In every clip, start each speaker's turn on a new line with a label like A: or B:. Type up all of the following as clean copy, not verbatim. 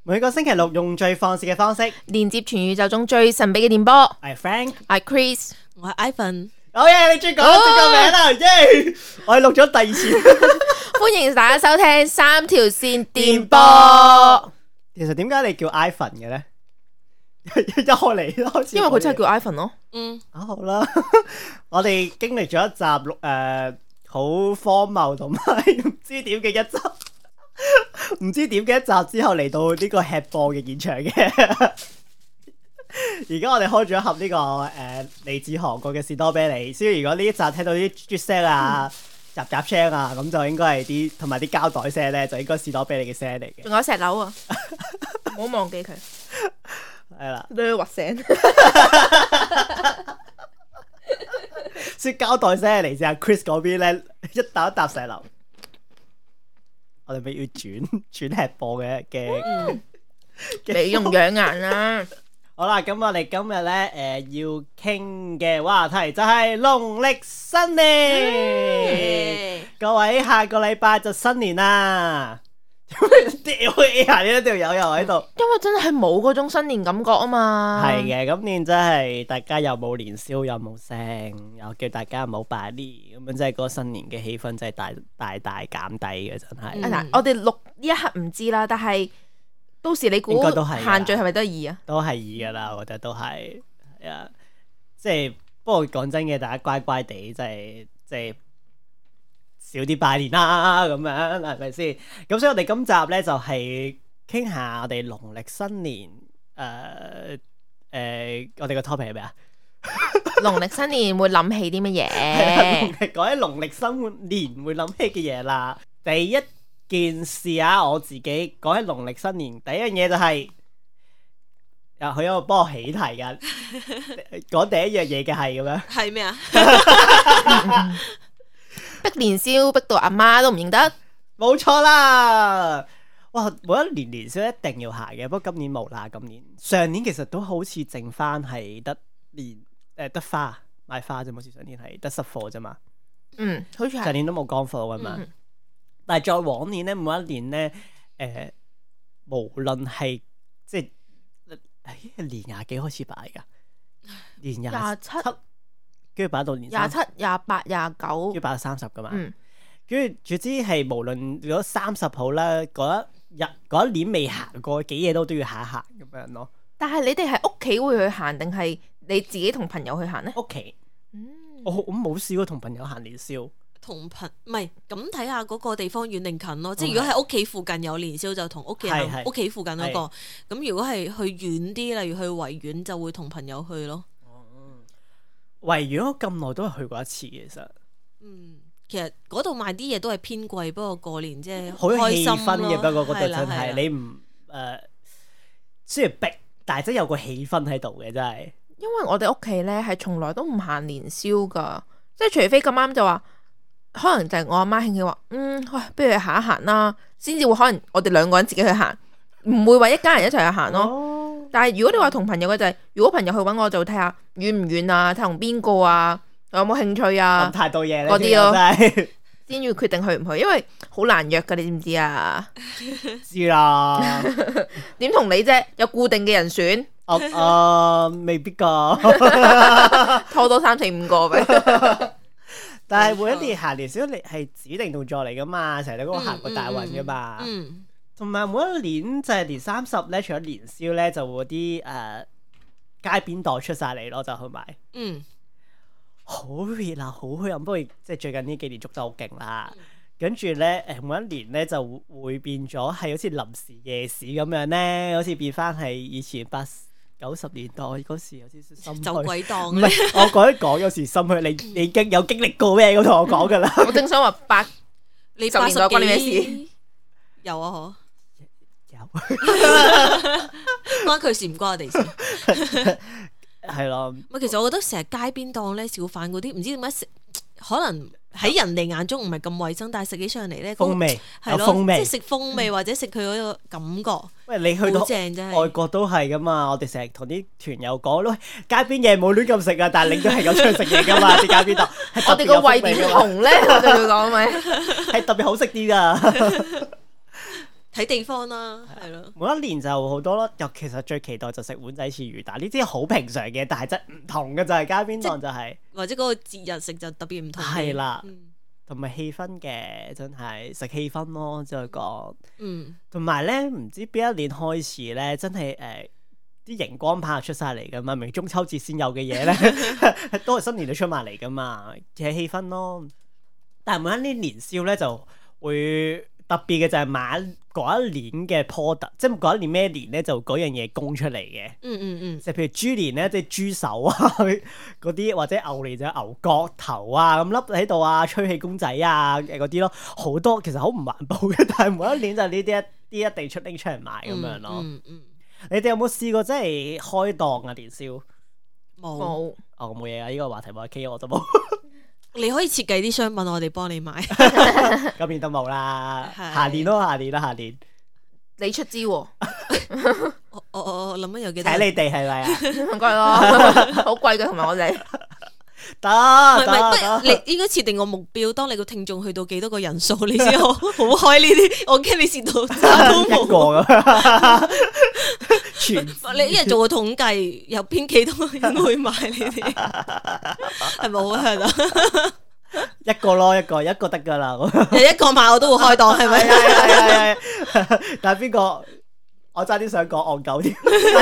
A: 每個星期六用最放肆嘅方式
B: 連接全宇宙中最神秘嘅電波。
A: 我係 Frank，
B: 我係 Chris，
C: 我係 Ivan。
A: 好嘢，你終於講咗個名啦，耶！我係錄咗第二次。
B: 歡迎大家收聽三條線電波。
A: 其實點解你叫 Ivan 嘅咧？一開始，
B: 因為佢真係叫 Ivan 咯。
A: 好啦，我哋經歷咗一集好荒謬同埋唔知點嘅一集。唔知點嘅一集之後嚟到呢個吃播嘅現場嘅，而家我哋開咗一盒呢個嚟自韓國嘅士多啤梨，所以如果呢一集聽到啲啜聲啊、雜雜聲啊，咁就應該係啲同埋啲膠袋聲咧，就應該士多啤梨嘅聲嚟嘅。
B: 仲有石榴啊，唔好忘記佢。
A: 係啦，
B: 都要核聲。
A: 所以膠袋聲嚟自阿 Chris 嗰邊咧，一啖一啖石榴。我哋咪要轉吃播嘅
B: 美容養顏啦。
A: 好啦，咁我哋今日咧要傾嘅話題就係農曆新年。各位下個禮拜就新年啦。屌啊！呢條友又喺度，
B: 因為真係冇嗰種新年感覺啊嘛。
A: 係嘅，今年真係大家又冇年宵又冇聲，又叫大家唔好拜年，咁樣真係嗰個新年嘅氣氛真係大減低嘅，真係。
B: 嗱，我哋錄呢一刻唔知啦，但係到時你估限聚係咪都係2啊？
A: 都係2噶啦，我覺得都係啊，即係不過講真嘅，大家乖乖地，即係少啲拜年啦，咁樣係咪先？咁所以我哋今集咧就係傾下我哋農曆新年我哋個 topic 係咩啊？
B: 農曆新年會諗起啲乜嘢？
A: 講起農曆新年會諗起嘅嘢啦。第一件事啊，我自己講起農曆新年，第一樣嘢就係佢有個幫我起題噶，講第一樣嘢嘅係咁樣，
C: 係咩啊？
B: 逼年宵逼到阿媽都唔認得，
A: 冇錯啦！哇，每一年年宵一定要行嘅，不過今年冇啦。今年上年其實都好似剩翻係得得花買花啫，好似上年係得濕貨啫嘛。
B: 好似係
A: 上年都冇乾貨噶嘛。但係再往年咧，每一年咧，無論係即係年廿幾開始擺噶，年27。跟住擺到年
B: 27、28、29，
A: 跟住擺到30噶嘛。跟住總之係無論如果30號啦，嗰一年未行過幾嘢都要行一行咁樣咯。
B: 但係你哋係屋企會去行定係你自己同朋友去行呢？
A: 屋企，我冇試過同朋友行年宵。
C: 唔係咁睇下嗰個地方遠定近咯。即係如果喺屋企附近有年宵，就同屋企人屋企附近嗰個。咁如果係去遠啲，例如去維園，就會同朋友去咯。
A: 維園我咁耐都係去過一次，其實。
C: 其實嗰度賣啲嘢都係偏貴，不過過年即係
A: 好有氣氛嘅，不過嗰度真係你唔雖然逼，但係真有個氣氛喺度嘅，真係。
B: 因為我哋屋企咧係從來都唔行年宵噶，即係除非咁啱就話，可能就係我阿媽興起話，喂，不如去行一行啦，先至會可能我哋2個人自己去行，唔會話一家人一齊去行咯。但係如果你話同朋友嘅就係，如果朋友去揾我就睇下遠唔遠啊，睇同邊個啊，有冇興趣啊，
A: 太多嘢
B: 嗰啲咯，
A: 真
B: 先要決定去唔去，因為好難約噶，你知唔知啊？
A: 知啦，
B: 點同你啫？有固定嘅人選，
A: 未必噶，
B: 拖多3、4、5個俾。
A: 但係每一年行年宵，你係指定動作嚟噶嘛，成日都嗰個行過大運噶嘛。同埋每一年就係年30咧，除咗年宵咧，就會啲街邊檔出晒嚟咯，就去買。好熱鬧，好墟冚，不過即係最近呢幾年捉得好勁啦。跟住咧，每一年咧就會變咗係好似臨時夜市咁樣咧，好似變翻係以前80、90年代嗰時有啲心虛。
C: 走鬼檔。
A: 唔係，我講有時心虛，你已經有經歷過咩？咁同我講噶啦。
B: 我正想話
C: 你
B: 80年代關你咩事？
C: 有啊，
A: 有
C: 關佢事唔關我哋事。
A: 係咯。
C: 其實我覺得成日街邊檔咧，小販嗰啲唔知點解食，可能喺人哋眼中唔係咁衛生，但係食起上嚟咧，
A: 風味
C: 係咯，即係食風味或者食佢嗰個感覺。
A: 喂，你去到外國都係噶嘛？我哋成日同啲團友講咯，街邊嘢冇亂咁食啊，但係你都係有出去食嘢噶嘛？啲街邊檔，
B: 我哋個胃點紅咧？我哋會講咪
A: 係特別好食啲噶。
C: 睇地方啦，係咯。
A: 每一年就好多咯，又其實最期待就食碗仔翅魚蛋，呢啲好平常嘅，但係真唔同嘅就係街邊檔就係，
C: 或者嗰個節日食就特別唔同。
A: 係啦，同埋氣氛嘅，真係食氣氛咯，即係講。同埋咧，唔知邊一年開始咧，真係啲熒光棒出晒嚟噶嘛，明中秋節先有嘅嘢咧，都係新年都出埋嚟噶嘛，嘅氣氛咯。但係每一年年宵咧就會特別嘅就係買嗰一年嘅 product， 即係嗰一年咩年咧就嗰樣嘢供出嚟嘅。即係譬如豬年咧，即係豬手啊嗰啲，或者牛年就牛角頭啊咁笠喺度啊，吹氣公仔啊嗰啲咯，好多其實好唔環保嘅，但係每一年就呢啲一定拎出嚟賣咁樣咯。你哋有冇試過真係開檔啊年宵？
C: 冇。
A: 冇嘢啊！呢個話題冇 K 我就冇。
C: 你可以設計啲商品，我哋幫你買。
A: 今年都冇啦，下年咯，下年。
B: 你出資喎？
C: 我諗緊有幾多？
A: 睇你哋係咪啊？
B: 唔該咯，好貴嘅，同埋我哋。
C: 得，你應該設定個目標，當你個聽眾去到幾多個人數，你先好開呢啲。我驚你蝕到渣都冇。一個咁。你一日做個統計，有邊幾多人會買呢啲？係咪好香啊？
A: 一個咯，一個得噶啦。
C: 一個買我都會開檔，係咪？
A: 係。但係邊個？我差啲想講戇鳩添。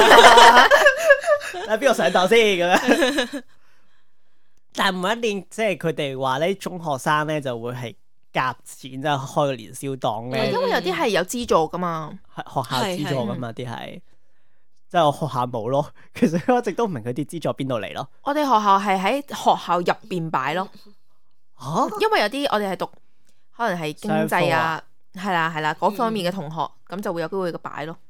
A: 但係邊個上檔先咁樣？但係每一年即係佢哋話咧，中學生咧就會係夾錢即係開個年宵檔咧。
B: 因為有啲係有資助噶嘛，
A: 係學校資助噶嘛啲係。即係我學校冇咯，其實我一直都唔明佢啲資助邊度嚟咯。
B: 我哋學校係喺學校入邊擺咯。因為有啲我哋係讀可能係經濟啊，係啦嗰方面嘅同學，咁就會有機會嘅擺咯。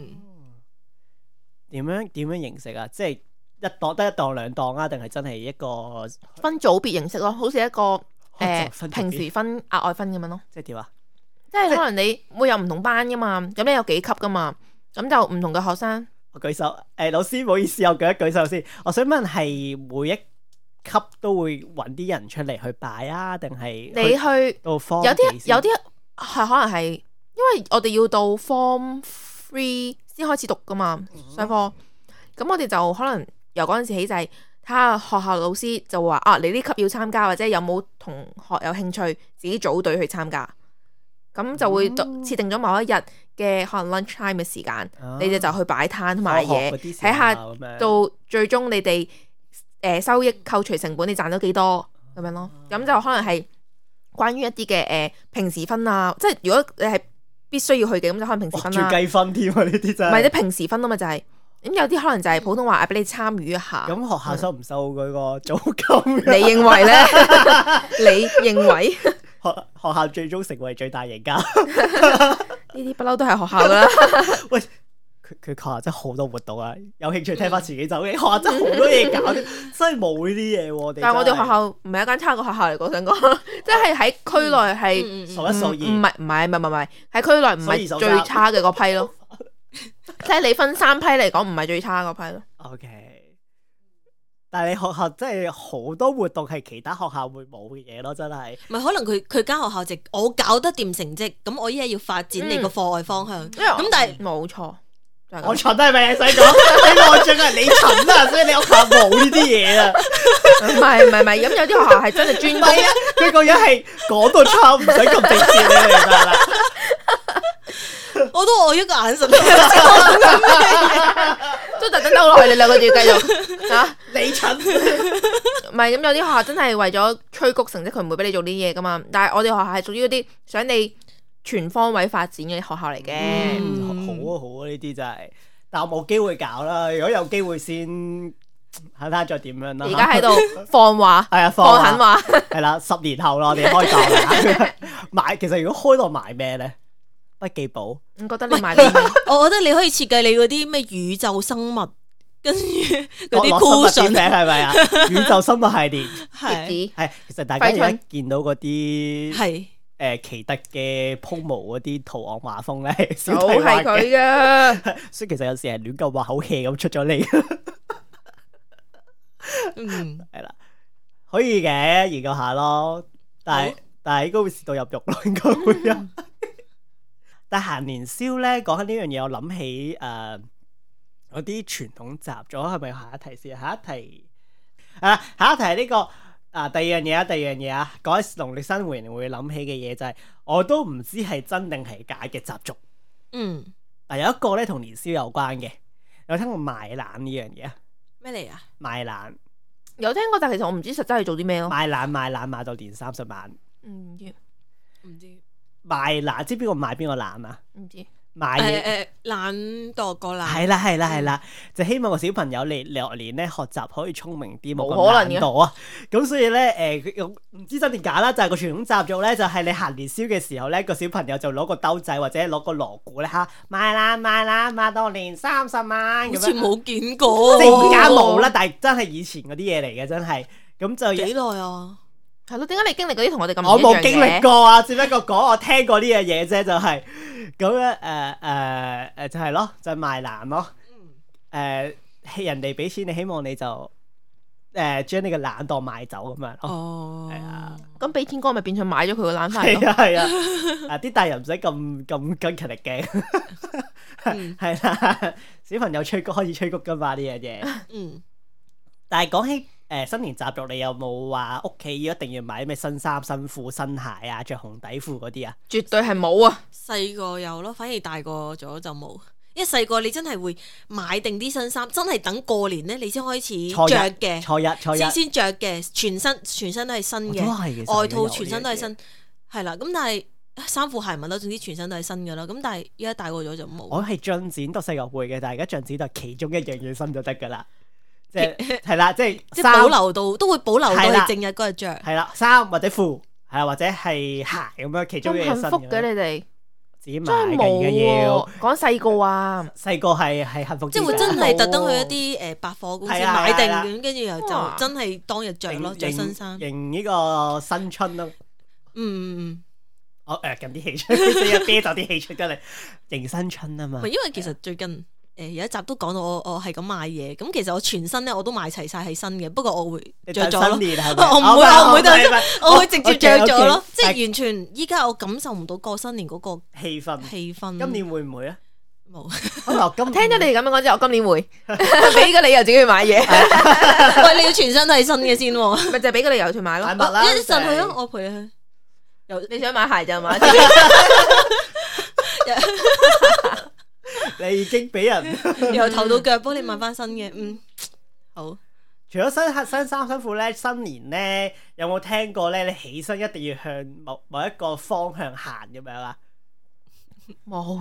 A: 點樣形式啊？即係一檔得一檔兩檔啊？定係真係一個
B: 分組別形式咯？好似一個平時分額外分咁樣咯。
A: 即係點啊？
B: 即係可能你會有唔同班噶嘛，咁你有幾級噶嘛，咁就唔同嘅學生。
A: 我舉手，老師唔好意思，我舉手先。我想問係每一級都會揾啲人出嚟去擺啊，定係
B: 你去
A: 到 form
B: 有啲係可能係，因為我哋要到 form 3先開始讀噶嘛上課，咁我哋就可能由嗰陣時起就係睇下學校老師就話啊，你呢級要參加，或者有冇同學有興趣自己組隊去參加。咁就會設定咗某一日嘅可能 lunch time 嘅時間，你哋就去擺攤賣嘢，睇下到最終你哋收益扣除成本，你賺咗幾多咁樣咯。咁就可能係關於一啲嘅平時分啊，即係如果你係必須要去嘅，咁就可能平時分啦。
A: 仲計分添啊！呢啲真係唔
B: 係啲平時分啊嘛，就係咁有啲可能就係普通話俾你參與一下。
A: 咁學校收唔收嗰個租金？
B: 你認為咧？你認為？
A: 學校最終成為最大贏家，
B: 呢啲不嬲都係學校噶啦。
A: 喂，佢學校真係好多活動啊！有興趣聽翻自己走嘅學校真係好多嘢搞，真係冇呢啲嘢。
B: 但係我哋學校唔係一間差嘅學校嚟，我想講，即係喺區內係
A: 數一數二，
B: 唔係喺區內唔係最差嘅嗰批咯。即係你分3批嚟講，唔係最差嗰批咯。
A: OK。但係你學校真係好多活動係其他學校會冇嘅嘢咯，真係。
C: 唔係可能佢間學校我搞得掂成績，咁我依家要發展你個課外方向。咁但係
B: 冇錯，
A: 我蠢都係咪？你使講？你內進係你蠢啊，所以你屋校冇呢啲嘢啊。
B: 唔係，咁有啲學校係真係專攻啊。
A: 佢個樣係講到差，唔使咁直接你明白啦。
C: 我都我一個眼神，
B: 都特登兜落去，你兩個要繼續嚇。
A: 你蠢，
B: 唔係咁有啲學校真係為咗催谷成績，佢唔會俾你做呢啲嘢噶嘛。但係我哋學校係屬於嗰啲想你全方位發展嘅學校嚟嘅。
A: 好啊，呢啲真係。但我冇機會搞啦，如果有機會先睇下再點樣啦。
B: 而家喺度放話，
A: 係啊，
B: 放狠話，
A: 係啦，10年後啦，我哋開檔啦。買其實如果開檔買咩咧？筆記簿，
B: 我覺得你買啲咩？
C: 我覺得你可以設計你嗰啲咩宇宙生物，跟住嗰啲酷訊
A: 名係咪啊？宇宙生物系列
C: 係，
A: 其實大家而家見到嗰啲係奇特嘅 promo 嗰啲圖案畫風咧，
B: 就係佢嘅。
A: 所以其實有時係亂咁畫口氣咁出咗嚟。係啦，可以嘅，研究下咯。但係應該會蝕到入肉咯，應該會有。 但係行年宵咧，講緊呢樣嘢，我諗起嗰啲傳統習俗，係咪下一題先？下一題下一題係呢個第二樣嘢啊，講起農曆新年會諗起嘅嘢就係，我都唔知係真定係假嘅習俗。有一個咧同年宵有關嘅，有聽過賣懶呢樣嘢啊？
C: 咩嚟啊？
A: 賣懶
B: 有聽過，但其實我唔知實質係做啲咩咯。
A: 賣懶到年30晚。
B: 唔知
A: 賣懶，知邊個賣邊個懶啊？
B: 唔知
A: 賣嘢
C: 懶惰個懶。
A: 係啦，就希望個小朋友嚟落年咧學習可以聰明啲，冇
B: 冇可能
A: 咁懶惰啊！咁所以咧唔知真定假啦，就係個傳統習俗咧，就係你行年宵嘅時候咧，個小朋友就攞個兜仔或者攞個鑼鼓咧嚇賣懶到年30晚咁樣。
C: 好似冇見過，
A: 即係而家冇啦，但係真係以前嗰啲嘢嚟嘅，真係咁就
C: 幾耐啊？
B: 係咯，點解你經歷嗰啲同我哋咁唔一樣嘅？
A: 我冇經歷過啊，只不過講我聽過呢樣嘢啫，就係咁樣就係咯，就係賣懶咯。人哋俾錢你，希望你就將你個懶當賣走咁樣咯。
C: 哦，
A: 係啊，
B: 咁俾錢哥咪變相買咗佢個懶翻咯。
A: 係啊，啲大人唔使咁勤力嘅。係啦，小朋友吹谷可以吹谷噶嘛呢樣嘢。但係講起新年習俗，你有冇話屋企一定要買咩新衫、新褲、新鞋啊？着紅底褲嗰啲啊？
B: 絕對係冇啊！
C: 細個有咯，反而大個咗就冇。因為細個你真係會買定啲新衫，真係等過年咧，你先開始着嘅。初一先着嘅，全身都係新嘅，外套全身都係新。係啦，咁但係衫褲鞋襪咯，總之全身都係新噶啦。咁但係依家大個咗就冇。
A: 我係進展到細個會嘅，但係而家進展到其中一樣嘢新就得噶啦。即係啦，即係
C: 保留到，都會保留到你正日嗰日着。
A: 係啦，衫或者褲，係啦，或者係鞋咁樣，其中一樣新嘅。
B: 咁幸福嘅你哋，
A: 自己買嘅要
B: 講細個啊，
A: 細個係幸福。
C: 即係會真係特登去一啲百貨公司買定咁，跟住又就真係當日着咯，着新衫。迎
A: 呢個新春咯。我咁啲氣出，啤酒啲氣出得嚟，迎新春啊嘛。
C: 因為其實最近。有一集都講到我係咁買嘢，咁其實我全身咧我都買齊晒係新嘅，不過我會着咗咯。我唔會等，我會直接着咗咯，即係完全依家我感受唔到過新年嗰個氣氛。
A: 今年會唔會啊？
C: 冇。
B: 聽咗你哋咁樣講之後，我今年會俾個理由自己去買嘢。
C: 喂，你要全身都係新嘅先，
B: 咪就係俾個理由去買咯。
C: 一陣去咯，我陪你去。
B: 你想買鞋就買。
A: 你已經俾人
C: 由頭到腳幫你買翻新嘅，好。
A: 除咗新衫新褲咧，新年咧有冇聽過咧？你起身一定要向某一個方向行咁樣啊？
B: 冇。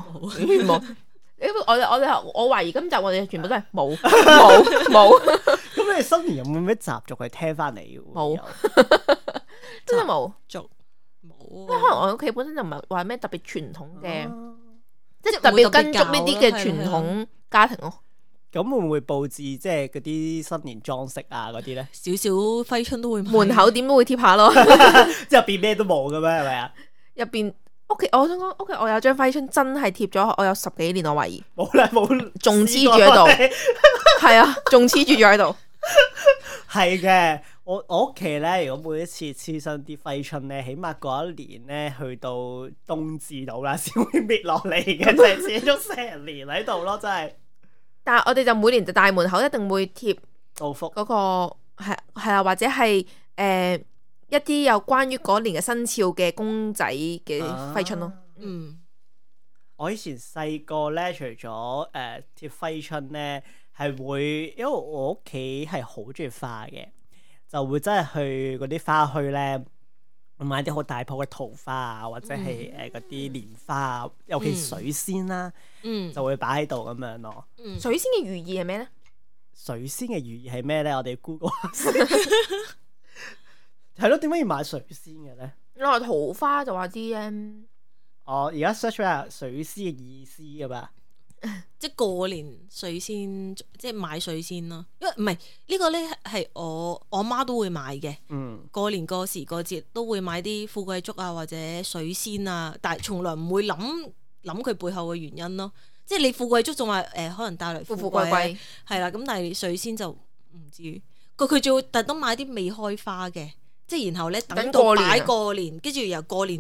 B: 我懷疑今集我哋全部都係冇。
A: 咁你新年有冇咩習俗去聽翻嚟？
B: 冇，真係冇。
C: 冇。
B: 可能我屋企本身就唔係話咩特別傳統嘅。即係特別跟足呢啲嘅傳統家庭咯。
A: 咁會唔會佈置即係嗰啲新年裝飾啊嗰啲咧？
C: 少少揮春都會買。
B: 門口點都會貼下咯。
A: 即係入邊咩都冇嘅咩？係咪啊？
B: 入邊屋企，我想講屋企，我有張揮春真係貼咗，我有10幾年，我懷疑。
A: 冇，
B: 仲黐住喺度。係啊，仲黐住咗喺度。
A: 係嘅。我屋企咧，如果每一次黐新啲揮春咧，起碼過一年咧，去到冬至到啦，先會搣落嚟嘅，就係黐咗成年喺度咯，真係。
B: 但係我哋就每年就大門口一定會貼
A: 祝福
B: 嗰個係啊，或者係一啲有關於嗰年嘅生肖嘅公仔嘅揮春咯。
A: 我以前細個咧，除咗貼揮春咧，係會因為我屋企係好中意花嘅。就會真係去嗰啲花墟咧，買啲好大棵嘅桃花啊，或者係嗰啲蓮花啊，尤其水仙啦，就會擺喺度咁樣咯。
B: 水仙嘅寓意係咩咧？
A: 水仙嘅寓意係咩咧？我哋 Google 下先。係咯，點解要買水仙嘅咧？
B: 我話桃花就話知咧。
A: 而家 search 下水仙嘅意思㗎嘛。
C: 即係過年水仙，即係買水仙咯。因為唔係呢個咧，係我媽都會買嘅。過年過時過節都會買啲富貴竹啊，或者水仙啊，但係從來唔會諗佢背後嘅原因咯。即係你富貴竹仲話可能帶來富貴係啦，咁但係水仙就唔知佢仲會特登買啲未開花嘅，即係然後咧等到擺過年，跟住由過年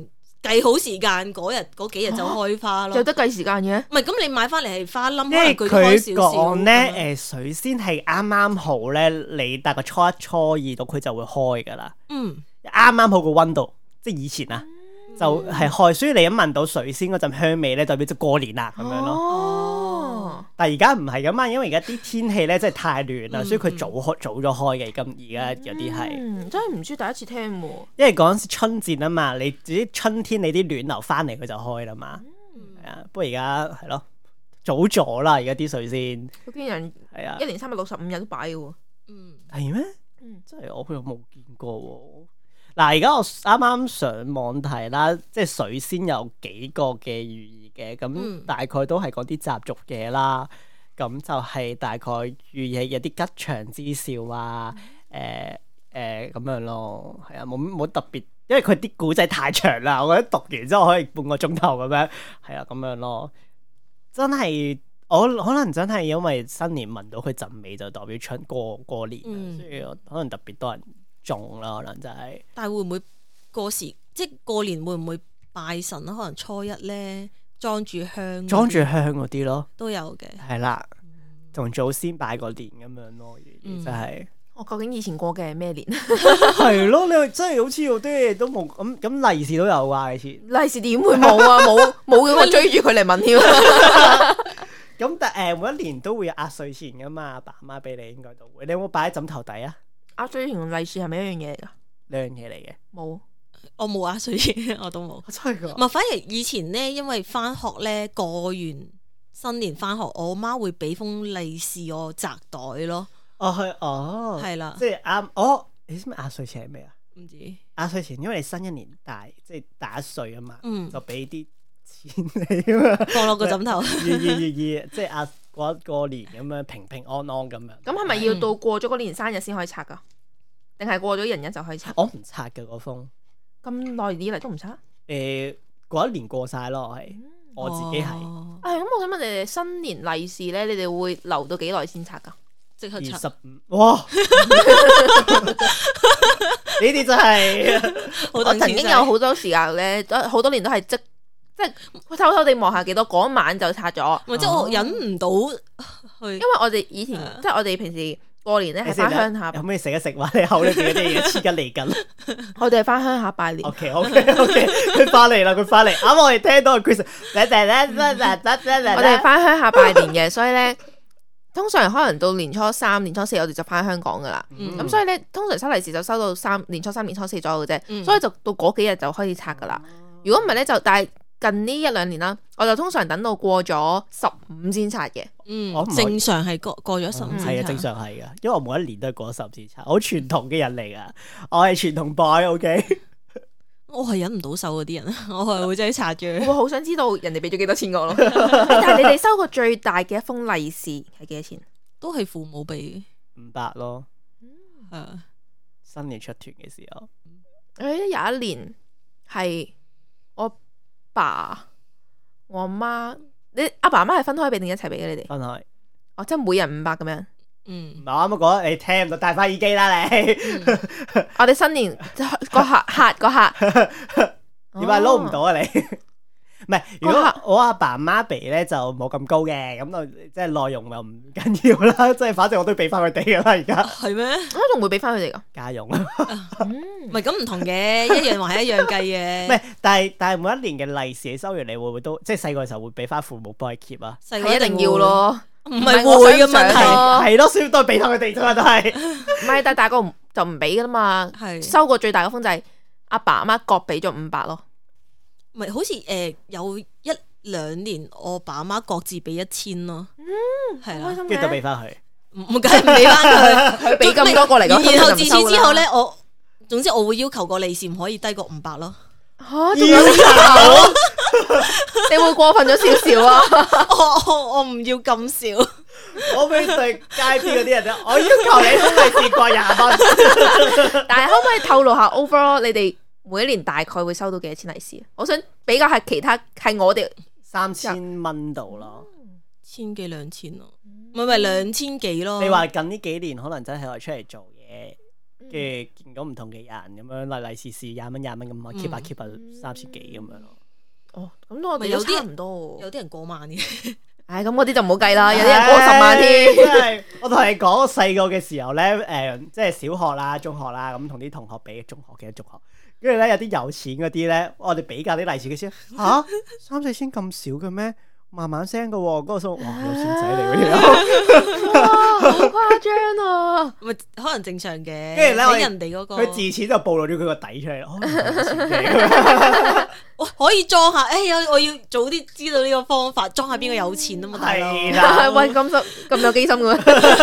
C: 計好時間嗰幾日就開花咯。
B: 有得計時間嘅？
C: 唔係咁，你買翻嚟係花冧，
A: 因為
C: 可能佢
A: 佢講咧水仙係啱啱好咧，你大概初一初二到佢就會開噶啦。啱啱好個溫度，即係以前啊，就係開，所以你一聞到水仙嗰陣香味咧，代表就過年啦咁樣咯。但係而家唔係噶嘛，因為而家啲天氣咧真係太暖啦，所以佢早咗開嘅。咁而家有啲係
B: 真係唔知，第一次聽喎。
A: 因為嗰陣時春節啊嘛，你自己春天你啲暖流翻嚟佢就開啦嘛。係啊，不過而家係咯早咗啦，而家啲水仙。
B: 嗰啲人係啊，1年365日都擺嘅喎。
A: 係咩？真係我又冇見過喎。嗱，而家我啱啱上網睇啦，即係水仙有幾個嘅寓意嘅，咁大概都係講啲習俗嘢啦。咁就係大概寓意有啲吉祥之兆啊，咁樣咯，係啊，冇特別，因為佢啲古仔太長啦，我覺得讀完之後可以半個鐘頭咁樣，係啊，咁樣咯。真係我可能真係因為新年聞到佢陣味就代表過年，所以可能特別多人種啦，可能就係。
C: 但係會唔會過時？即係過年會唔會拜神啊？可能初一咧裝住香
A: 嗰啲咯，
C: 都有嘅。
A: 係啦，同祖先拜個年咁樣咯，真係。
B: 我究竟以前過嘅係咩年？
A: 係咯，你真係好似有啲嘢都冇咁利是都有啊！以前
B: 利是點會冇啊？冇嘅，我追住佢嚟問添。
A: 咁但每一年都會有壓歲錢噶嘛，爸媽俾你應該都會。你有冇擺喺枕頭底啊？
B: 壓歲錢同利是係咪一樣嘢嚟噶？
A: 兩樣嘢嚟嘅。
B: 冇，
C: 我冇壓歲錢，我都冇。
A: 真係噶？
C: 唔係，反而以前咧，因為翻學咧，過完新年翻學，我媽會俾封利是我紮袋咯。係啦，
A: 即係啱。你知唔知壓歲錢係咩啊？
C: 唔知
A: 壓歲錢，因為你新一年即係大一歲啊嘛，就俾啲錢你啊嘛，
C: 放落個枕頭，
A: 即係過年咁樣平平安安咁樣。
B: 咁係咪要到過咗嗰年生日先可以拆噶？定係過咗人日就可以拆？
A: 我唔拆嘅嗰封，
B: 咁耐以嚟都唔拆。
A: 過一年過晒咯，我自己係。
B: 咁我想問你哋新年利是咧，你哋會留到幾耐先拆噶？
C: 即刻拆
A: 25，哇！呢啲真係
B: 我曾經有好多時間咧，好多年都係即係偷偷地望下幾多，嗰晚就拆咗。
C: 即係我忍唔到去，
B: 因為我哋以前即係我哋平時過年咧係翻鄉下，
A: 有咩食一食話你口裏邊嗰啲嘢黐緊嚟緊。
B: 我哋係翻鄉下拜年。
A: OK，佢翻嚟啦，啱我哋聽到 Chris， 我
B: 哋係翻鄉下拜年嘅，所以咧。通常可能到年初3、年初4，我哋就翻香港噶啦。咁所以咧，通常收利是就收到年初3、年初4左右嘅啫。所以就到嗰幾日就開始拆噶啦。如果唔係咧，但係近呢1-2年啦，我就通常等到過咗15先拆嘅。
C: 正常係過咗15。
A: 係啊，正常係噶，因為我每一年都係過咗15先拆，好傳統嘅人嚟噶。我係傳統 boy，OK。
C: 我係忍唔到手嗰啲人，我係會真係拆住。
B: 我好想知道人哋俾咗幾多錢我咯。但係你哋收過最大嘅一封利是係幾多錢？
C: 都係父母俾
A: 500咯。新年出團嘅時候，
B: 有一年係我爸、我媽，你阿爸阿媽係分開俾定一齊俾嘅？你哋
A: 分開。
B: 即係每人500咁樣。
A: 我啱啱講，你聽唔到，戴翻耳機啦你。
B: 我哋新年個客
A: 點解撈唔到啊你？唔係，如果我阿爸阿媽俾咧就冇咁高嘅，咁就即係內容又唔緊要啦，即係反正我都俾翻佢哋噶啦，而家。係咩？
B: 我仲會俾翻佢哋噶
A: 家用。
C: 唔係咁唔同嘅，一樣還係一樣計嘅。
A: 唔係，但係每一年嘅利是你收完，你會唔會都即係細個嘅時候會俾翻父母幫佢 keep 啊？
B: 係一定要咯。
C: 唔係會嘅問題，
A: 係咯，所以都係俾翻佢哋啫嘛，都係。
B: 唔係，但係大個就唔俾噶啦嘛。收過最大嘅封就係阿爸阿媽各俾咗500咯。
C: 唔係，好似有1-2年，我爸阿媽各自俾1000咯。係啦，
A: 跟住就俾翻佢。
C: 唔梗係唔俾翻佢，
B: 佢俾咁多過嚟。
C: 然後自此之後咧，總之我會要求個利是唔可以低過500咯。
B: 仲有求？你會過分咗少少啊？
C: 我唔要咁少。
A: 我俾對街邊嗰啲人咧，我要求你封利是過20蚊。
B: 但係可唔可以透露下 overall 你哋每一年大概會收到幾多錢利是？我想比較係其他係我哋
A: 3000蚊度咯
C: ，1000幾2000咯，唔係2000幾咯。
A: 你話近呢幾年可能真係我出嚟做嘢跟住見到唔同嘅人咁樣利是20蚊咁，我 keep 下 keep 下3000幾咁樣咯。
B: 哦，咁我哋有啲唔多，
C: 有啲人過萬嘅。
B: 唉，咁嗰啲就唔好計啦，有啲人過10萬添。
A: 真係，我同你講，我細個嘅時候咧，即係小學啦、中學啦，咁同啲同學比，中學，跟住咧有啲有錢嗰啲咧，我哋比較啲利是嘅先嚇，3-4千咁少嘅咩？慢慢聲嘅喎，嗰個數哇有錢仔嚟嗰啲，
B: 哇，好誇張啊！
C: 咪可能正常嘅，
A: 跟住咧
C: 人哋嗰個
A: 佢自此就暴露咗佢個底出嚟。
C: 我可以裝下，我要早啲知道呢個方法，裝下邊個有錢啊嘛，
A: 係啦，
B: 喂，咁有機心嘅。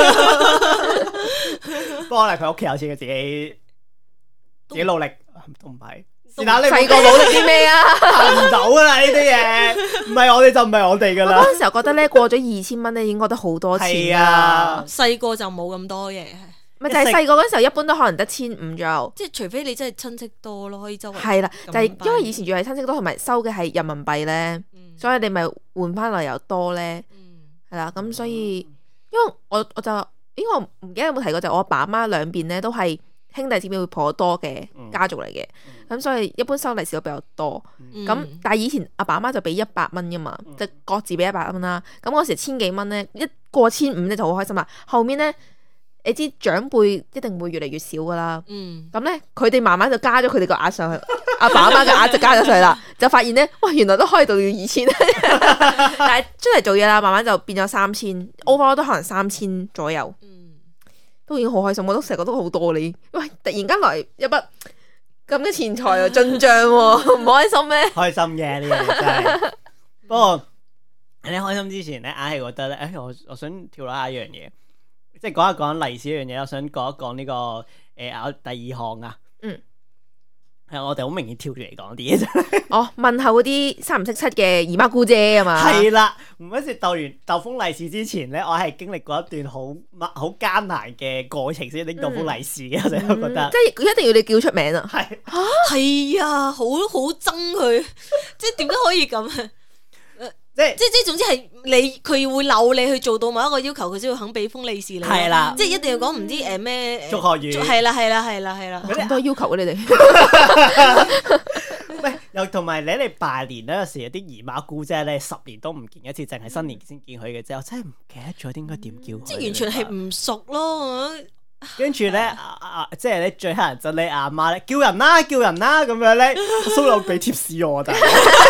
A: 不過咧，佢屋企有錢嘅自己努力都唔係。
B: 細個努力啲咩啊？
A: 行唔到噶啦呢啲嘢，唔係我哋就唔係我哋噶啦。
B: 我嗰陣時候覺得咧，過咗2000蚊咧，已經覺得好多錢啊。
C: 細個就冇咁多嘢，
B: 咪就係細個嗰陣時候，一般都可能得1500左右。
C: 即係除非你真係親戚多咯，可以周圍。
B: 係啦，就係因為以前仲係親戚多，同埋收嘅係人民幣咧，所以你咪換翻嚟又多咧。係啦，咁所以因為我就我唔記得有冇提過，就我阿爸阿媽兩邊咧都係兄弟姊妹會頗多嘅家族嚟嘅，咁所以一般收利是都比較多。咁但係以前阿爸阿媽就俾100蚊噶嘛，就各自俾100蚊啦。咁嗰時1000幾蚊咧，一過1500咧就好開心啦。後面咧，你知長輩一定會越嚟越少噶啦。咁咧佢哋慢慢就加咗佢哋個額上去，阿爸阿媽嘅額就加咗上去啦。就發現咧，哇，原來都可以到2000，但係出嚟做嘢啦，慢慢就變咗3000，overall 都可能3000左右。都已經好開心，我都成日覺得好多你。喂，突然間來一筆咁嘅錢財又進帳喎，唔開心咩？
A: 開心嘅呢樣真係。不過你開心之前咧，硬係覺得咧，我想跳落下一樣嘢，即係講一講利是呢樣嘢。我想講一講呢個第2項啊。係我哋好明顯跳住嚟講啲嘢啫。
B: 問候嗰啲3唔識7嘅姨媽姑姐啊嘛。係
A: 啦，每一次鬥封利是之前咧，我係經歷過一段好艱難嘅過程先拎到封利是嘅，我成日都覺得。
B: 即係佢一定要你叫出名啊。
C: 係啊，好憎佢，即係點解可以咁啊？即係總之係佢會扭你去做到某一個要求，佢先會肯俾封利是你。係啦，即係一定要講唔知咩
A: 祝賀語。
C: 係啦，
B: 咁多要求啊你哋。
A: 喂，又同埋你哋拜年咧，有時有啲姨媽姑姐咧10年都唔見一次，淨係新年先見佢嘅啫。我真係唔記得咗應該點叫佢。
C: 即係完全係唔熟咯。
A: 跟住咧，即係咧最乞人憎你阿媽咧，叫人啦咁樣咧，蘇老俾貼士我，但係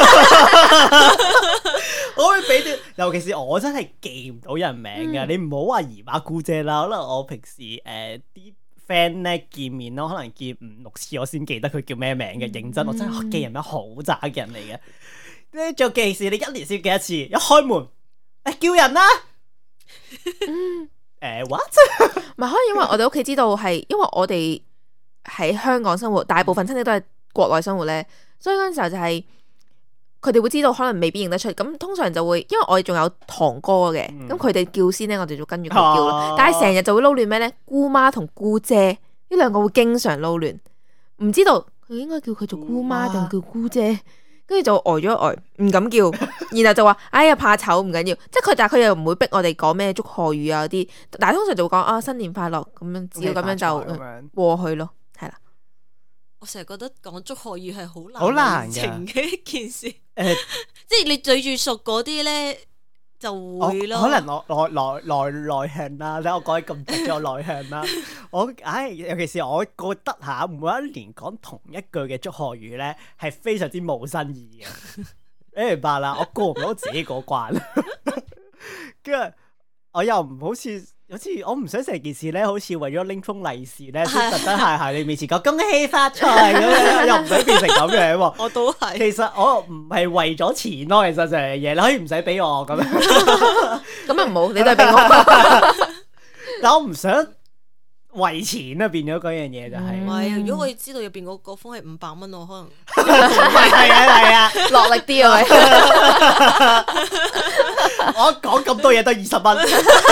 A: 我會俾啲，尤其是我真係記唔到人名嘅，你唔好話姨媽姑姐啦，可能我平時啲 friend 咧見面咯，可能見5-6次我先記得佢叫咩名嘅，認真我真係記人名好渣嘅人嚟嘅。咧仲尤其是你1年先記一次，一開門叫人啦。what？
B: 唔係可能因為我哋屋企知道係，因為我哋喺香港生活，大部分親戚都係國內生活咧，所以嗰陣時候就係佢哋會知道，可能未必認得出。咁通常就會，因為我哋仲有堂哥嘅，咁佢哋叫先咧，我哋就跟住佢叫啦。但係成日就會撈亂咩咧？姑媽同姑姐呢兩個會經常撈亂，唔知道佢應該叫佢做姑媽定叫姑姐。跟住就呆咗唔敢叫，然後就話哎呀怕醜唔緊要，即係但係佢又唔會逼我哋講咩祝賀語啊嗰啲，但係通常就會講新年快樂咁樣，只要咁樣就過去咯，係啦。
C: 我成日覺得講祝賀語係好難情嘅一件事，即係你對住熟嗰啲咧就會咯。
A: 可能我內向啦，睇我講咁直咗內向啦。尤其是我覺得每一年講同一句嘅祝賀語咧，係非常之冇新意嘅。你明白啦？我過唔到自己嗰關，跟住我又唔好似我唔想成件事咧，好似為咗拎封利是咧，先特登喺你面前講恭喜發財咁樣，又唔使變成咁樣喎。
C: 我都係。
A: 其實我唔係為咗錢咯，其實就係嘢，你可以唔使俾我咁樣。
B: 咁啊唔好，你都係俾我。
A: 但我唔想為錢啊，變咗嗰樣嘢就係。
C: 唔係啊，如果我知道入邊嗰封係500蚊，我可能
A: 係啊，
B: 落力啲啊！
A: 我講咁多嘢都20蚊，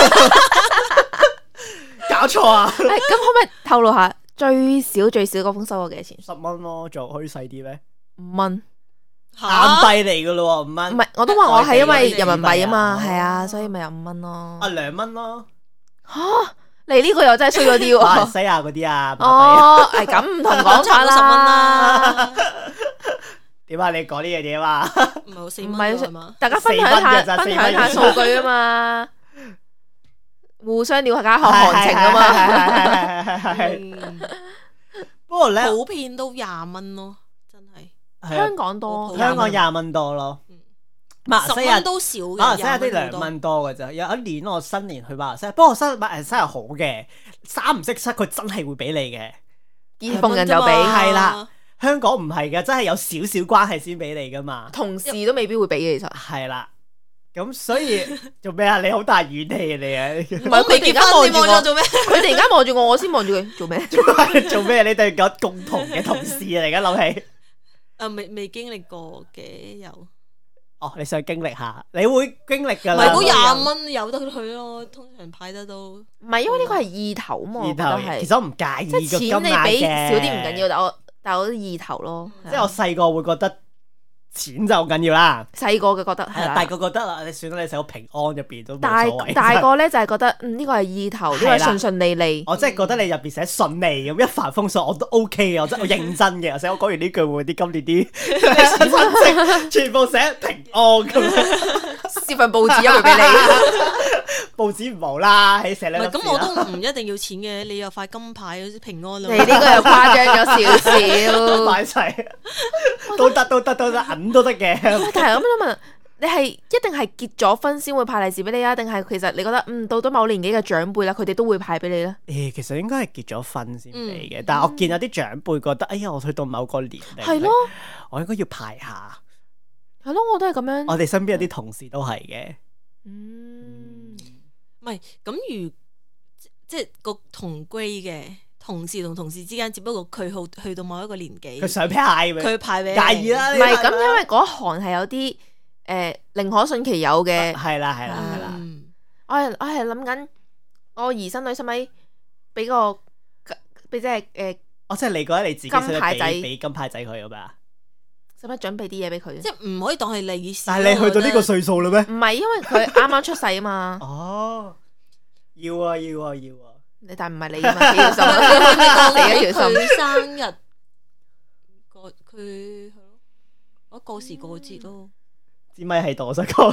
A: 搞錯啊！
B: 咁可唔可以透露下最少嗰封收咗幾多錢
A: ？10蚊咯，仲可以細啲咩
B: ？5蚊，
A: 硬幣嚟噶咯喎，5蚊。
B: 唔係，我都話我係因為人民幣啊嘛，係啊，所以咪有5蚊咯。
A: 2蚊咯。
B: 吓你呢個又真係衰咗啲喎。
A: 馬來西亞嗰啲啊，
B: 哦，係咁唔同講法啦。
C: 10蚊啦。
A: 點啊？你講呢樣嘢嘛？
C: 唔係4蚊係嘛？
B: 大家分享下數據啊嘛，互相了解下行情啊嘛。
A: 不過咧，
C: 普遍都20蚊咯，真係。
B: 香港多，
A: 香港20蚊多咯。馬來西亞
C: 都少嘅，
A: 馬來西亞啲2蚊多嘅咋。有一年我新年去馬來西亞，不過馬來西亞好嘅，3唔識7佢真係會俾你嘅，
B: 見逢人就俾。
A: 係啦，香港唔係嘅，真係有少少關係先俾你噶嘛。
B: 同事都未必會俾嘅，其實。
A: 係啦，咁所以做咩啊？你好大怨氣啊你啊！
B: 唔係佢哋而家望住我做咩？佢哋而家望住我，我先望住佢做咩？
A: 做咩？你哋有共同嘅同事嚟嘅，諗起。
C: 未經歷過嘅有。
A: 哦，你想經歷下，你會經歷㗎啦。
C: 唔係嗰20蚊有得去咯，通常派得都。
B: 唔係因為呢個係意頭嘛，我覺得係。
A: 其實我唔介意個金額嘅。
B: 錢你俾少啲唔緊要，但我啲意頭咯。
A: 即係我細個會覺得錢就好緊要啦。
B: 細個嘅覺得係啦，
A: 大個覺得啦，你算啦，你成個平安入邊都冇所謂。
B: 大個咧就係覺得呢個係意頭，呢個係順順利利。
A: 我真係覺得你入邊寫順利咁一帆風順，我都 OK 嘅，我認真嘅。而且我講完呢句會啲今年啲親戚全部寫平安咁樣，
B: 撕份報紙一去俾你。
A: 報紙唔好啦，喺寫兩。
C: 咁我都唔一定要錢嘅，你有塊金牌平安咯。
B: 你呢個又誇張咗少少，
A: 買齊都得，銀都得嘅。
B: 但係咁樣問，你係一定係結咗婚先會派利是俾你啊？定係其實你覺得到咗某年紀嘅長輩啦，佢哋都會派俾你咧？
A: 其實應該係結咗婚先俾嘅，但係我見有啲長輩覺得，哎呀，我去到某個年齡，
B: 係咯，
A: 我應該要派下。
B: 係咯，我都係咁樣。
A: 我哋身邊有啲同事都係嘅。
C: 唔係咁即係個同歸嘅同事同同事之間，只不過佢去到某一個年紀，
A: 佢想派俾，
C: 佢派俾
A: 介意啦。
B: 唔係咁，因為嗰行係有啲寧可信其有嘅。
A: 係啦。
B: 我係諗緊，我兒孫女使咪俾個俾即係
A: 即係你覺得你自己
B: 金牌仔
A: 俾金牌仔佢咁啊？
B: 使唔使準備啲嘢俾佢？
C: 即係唔可以當係利是。
A: 但係你去到呢個歲數啦咩？
B: 唔係，因為佢啱啱出世啊嘛。
A: 哦，要啊！
B: 你但係唔係你啊嘛？幾條心啊？死一條心。
C: 佢生日，佢係咯，我過時過節咯。
A: 支咪喺度，我想講。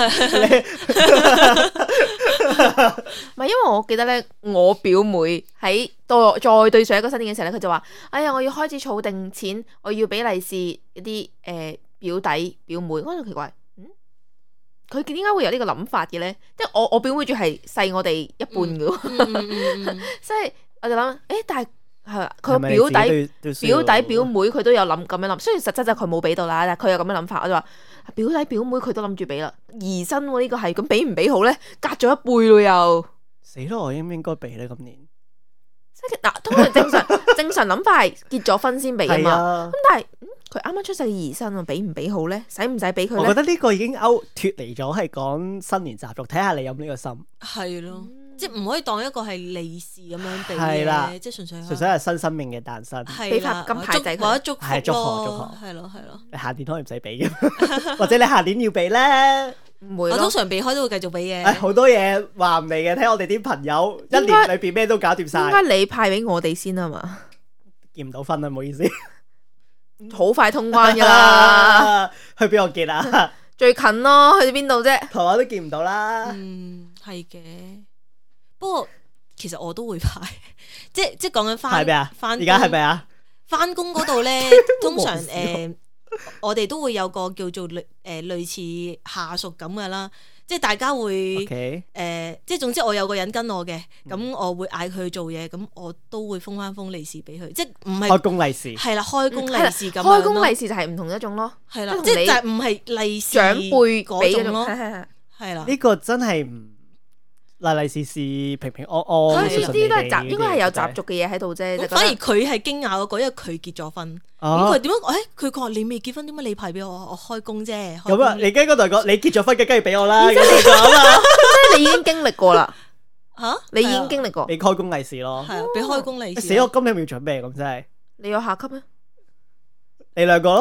B: 唔係，因為我記得咧，我表妹喺再對上一個新年嘅時候咧，佢就話：哎呀，我要開始儲定錢，我要俾利是一啲表弟表妹。我就奇怪，佢點解會有呢個諗法嘅咧？即係我表妹仲係細我哋一半嘅，所以我就諗，但係係佢個表弟表妹佢都有諗咁樣諗，雖然實質就佢冇俾到啦，但係佢有咁樣諗法，我就話。表弟表妹佢都諗住俾啦，兒孫呢個係咁俾唔俾好咧？隔咗一輩咯又，
A: 死咯！我應唔應該俾咧？今年
B: 即係嗱，通常正常諗法係結咗婚先俾啊嘛。咁但係佢啱啱出世嘅兒孫啊，俾唔俾好咧？使唔使俾佢咧？
A: 我覺得呢個已經脫離咗係講新年習俗，睇下你有冇呢個心。
C: 係咯。即係唔可以當一個係利是咁樣俾嘅，即係純粹
A: 係新生命嘅誕生，
B: 俾塊金牌仔佢，
C: 或者祝福
A: 係祝賀，
C: 係咯。
A: 你下年可以唔使俾嘅，或者你下年要俾咧，
B: 唔會。
C: 我通常避開都會繼續俾嘅。
A: 好多嘢話唔嚟嘅，睇我哋啲朋友一年裏邊咩都搞掂晒。
B: 應該你派俾我哋先啊嘛，
A: 結唔到婚啊，唔好意思，
B: 好快通關噶啦。
A: 去邊度結啊？
B: 最近咯，去邊度啫？
A: 台灣都見唔到啦。
C: 係嘅。不過其實我都會派，即係講緊翻
A: 而家係咪啊？
C: 翻工嗰度咧，通常我哋都會有個叫做類似下屬咁噶啦，即係大家會即係總之我有個人跟我嘅，咁我會嗌佢做嘢，咁我都會封翻封利是俾佢，即係唔係
A: 開工利是，
C: 係啦，開工利是咁樣咯。
B: 開工利是就係唔同一種咯，係啦，
C: 即係就係唔係利是
B: 長輩
C: 嗰種咯，
B: 係啦。
A: 呢個真係唔。利是平平安安，
B: 呢啲都係應該係有習俗嘅嘢喺度啫。
C: 反而佢係驚訝嗰個，因為佢結咗婚。咁佢點樣？佢講你未結婚，點解你派俾我？我開工啫。
A: 咁啊，你跟嗰度講，你結咗婚嘅，梗係俾我啦。
B: 即係你已經經歷過啦。
C: 吓，
B: 你已經經歷過。
A: 俾開工利是咯，
C: 係啊，俾開工利是。
A: 死我今日要準備咁真係。
B: 你有下級咩？
A: 你兩個咯。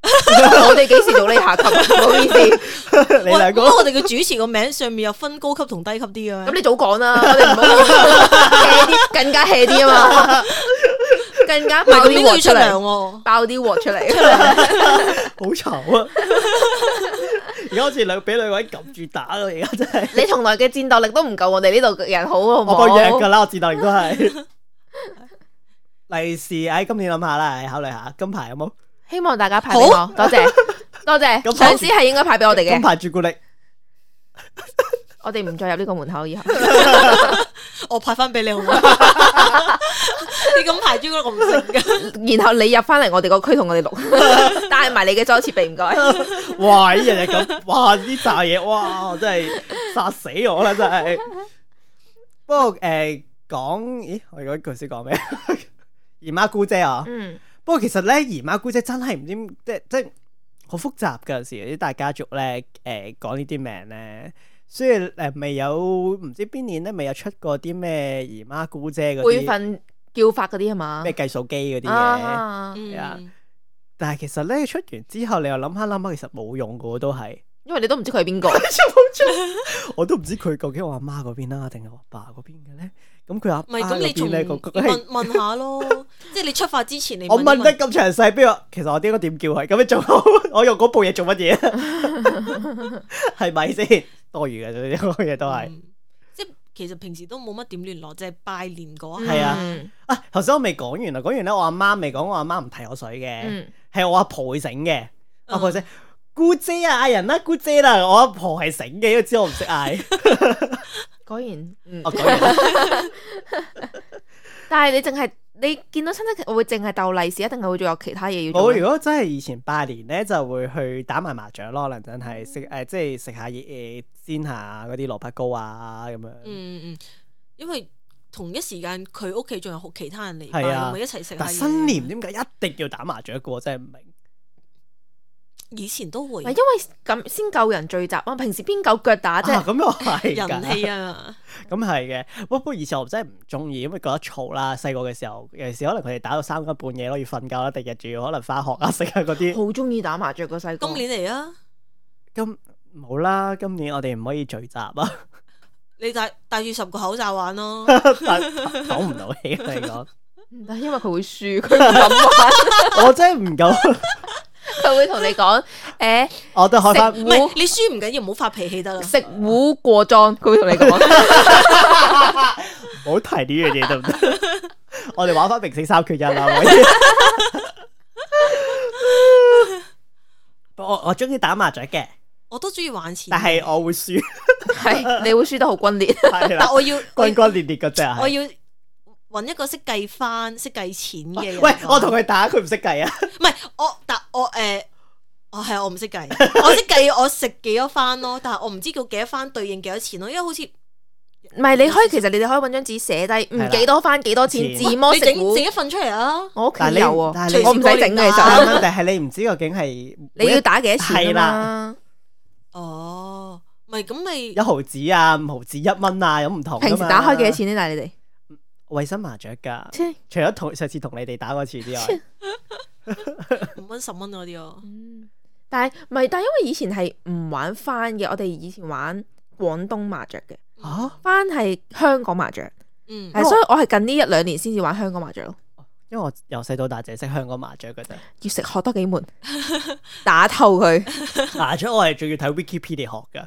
B: 我哋幾時到呢下級？唔好意思，
A: 你兩個
C: 我哋嘅主持個名上面有分高級同低級啲嘅。
B: 咁你早講啦，我哋唔好 hea 啲，更加 hea 啲啊嘛，更加爆啲鑊出嚟，爆啲鑊出嚟，
A: 好嘈啊！而家好似俾兩個人撳住打咯，而家真係。
B: 你從來嘅戰鬥力都唔夠我哋呢度嘅人好，好唔好？
A: 我個弱噶啦，我戰鬥力都係。利是，今年諗下啦，考慮下金牌有冇？
B: 希望大家派俾我，多謝多謝。上司係應該派俾我哋嘅
A: 金牌朱古力。
B: 我哋唔再入呢個門口以後，
C: 我派翻俾你好唔好？你金牌朱古力我唔食噶。
B: 然後你入翻嚟我哋個區同我哋錄，帶埋你嘅裝設備唔該。
A: 哇！呢日日咁，哇！呢扎嘢，哇！真係殺死我啦，真係。不過講，咦？我嗰句先講咩？姨媽姑姐啊。不過其實咧，姨媽姑姐真係唔知即好複雜㗎，有時啲大家族咧講呢啲名咧，所以未有唔知邊年咧未有出過啲咩姨媽姑姐嗰啲
B: 輩份叫法嗰啲係嘛？
A: 咩計數機嗰啲嘢係啊。但係其實咧出完之後，你又諗下，其實冇用㗎都係，
B: 因為你都唔知佢係邊個。
A: 我都唔知佢究竟我阿媽嗰邊啦，定係我阿爸嗰邊嘅咧。咁佢阿
C: 唔係咁，你仲問下咯，即係你出發之前你
A: 我問得咁詳細，邊個？其實我應該點叫佢？咁你做好，我用嗰部嘢做乜嘢？係咪先多餘嘅？呢個嘢都係，
C: 即係其實平時都冇乜點聯絡，即係拜年嗰下。
A: 係啊，頭先我未講完啊，講完咧，我阿媽未講，我阿媽唔提我水嘅，係我阿婆會醒嘅，阿婆醒姑姐啊，嗌人啦，姑姐啦，我阿婆係醒嘅，因為知我唔識嗌。
B: 果然，
A: 果然。
B: 但係你見到親戚會淨係鬥利是，一定係會仲有其他嘢要做。
A: 我如果真係以前拜年咧，就會去打埋麻雀咯，可能真係食即係食下嘢煎下嗰啲蘿蔔糕啊咁樣。
C: 因為同一時間佢屋企仲有其他人嚟拜，咪一齊食下嘢。
A: 但新年點解一定要打麻雀嘅？我真係唔明。
C: 以前都會，
B: 因為咁先夠人聚集啊！平時邊夠腳打啫？
A: 咁又係
C: 人氣啊！
A: 咁係嘅，不過以前我真係唔中意，因為覺得嘈啦。細個嘅時候，尤其是可能佢哋打到3更半夜咯，要瞓覺啦，第日仲要可能翻學啊、食啊嗰啲。
B: 好中意打麻雀個細個。
C: 今年嚟啊！
A: 冇啦，今年我哋唔可以聚集啊！
C: 你戴住10個口罩玩咯，
A: 講唔到氣嚟講。
B: 但因為佢會輸，佢唔敢玩。
A: 我真係唔敢。
B: 佢會同你講，
A: 我都開翻。
C: 唔係你輸唔緊要，唔好發脾氣得啦。
B: 食糊過莊，佢會同你講。
A: 唔好提呢樣嘢得唔得？我哋玩翻明星3缺1啦。我中意打麻雀嘅，
C: 我都中意玩錢，
A: 但係我會輸。
B: 係你會輸得好轟烈，
C: 但我要
A: 轟烈嗰隻。
C: 我要揾一個識計翻、識計錢嘅人。
A: 喂，我同佢打，佢唔識計啊？
C: 唔係我唔識計，我識計我食幾多番咯，但係我唔知叫幾多番對應幾多錢咯，因為好似
B: 唔係你可以，其實你哋可以揾張紙寫低，幾多番幾多錢，自摸食糊，
C: 自己份出嚟啊！
B: 我屋企有喎，
C: 我
B: 唔使整嘅其實。
A: 問題係你唔知究竟係
B: 你要打幾多錢啊嘛？
C: 哦，咪咁咪
A: 1毫子啊、5毫子、1蚊啊，有唔同。
B: 平時打開幾多錢呢？但係你哋
A: 衛生麻雀噶，除咗上次同你哋打嗰次之外
C: 5蚊10蚊嗰啲咯。
B: 但係唔係，但係因為以前係唔玩番嘅，我哋以前玩廣東麻雀嘅。番係香港麻雀，所以我係近呢1-2年先至玩香港麻雀咯。
A: 因為我由細到大淨係識香港麻雀嘅啫，
B: 要學多幾門，打透佢。
A: 麻雀我係仲要睇 Wikipedia 學噶，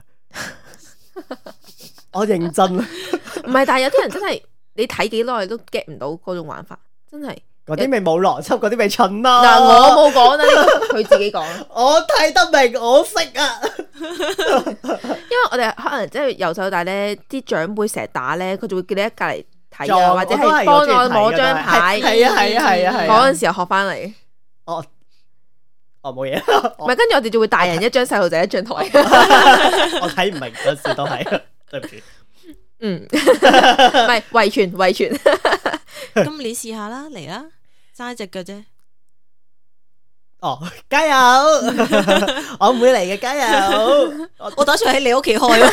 A: 我認真。
B: 唔係，但係有啲人真係你睇幾耐都 get 唔到嗰種玩法，真係。
A: 嗰啲咪冇邏輯，嗰啲咪蠢啦。
B: 嗱，我冇講啦，佢自己講。
A: 我睇得明，我識啊。
B: 因為我哋可能即係由細到大咧，啲長輩成日打咧，佢就會叫你喺隔籬睇啊，或者係幫我摸張牌。
A: 係啊。
B: 嗰陣時候學翻嚟。
A: 我冇嘢。
B: 唔係，跟住我哋就會大人一張，細路仔一張台。
A: 我睇唔明嗰時都係，對唔住。
B: 唔係遺傳。
C: 今年試下啦，嚟啦，揸隻腳啫。
A: 加油！我唔會嚟嘅，加油！
C: 我打算喺你屋企開。